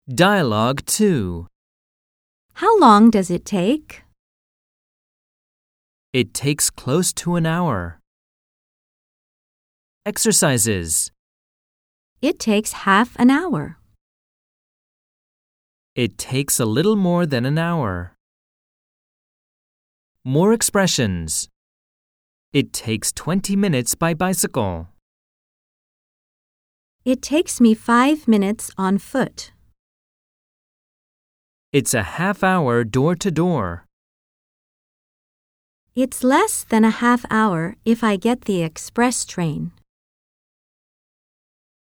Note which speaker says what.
Speaker 1: Dialogue 2.
Speaker 2: How long does it take?
Speaker 1: It takes close to an hour. Exercises.
Speaker 2: It takes half an hour.
Speaker 1: It takes a little more than an hour. More expressions. It takes 20 minutes by bicycle.
Speaker 2: It takes me 5 minutes on foot.
Speaker 1: It's a half hour door to door.
Speaker 2: It's less than a half hour if I get the express train.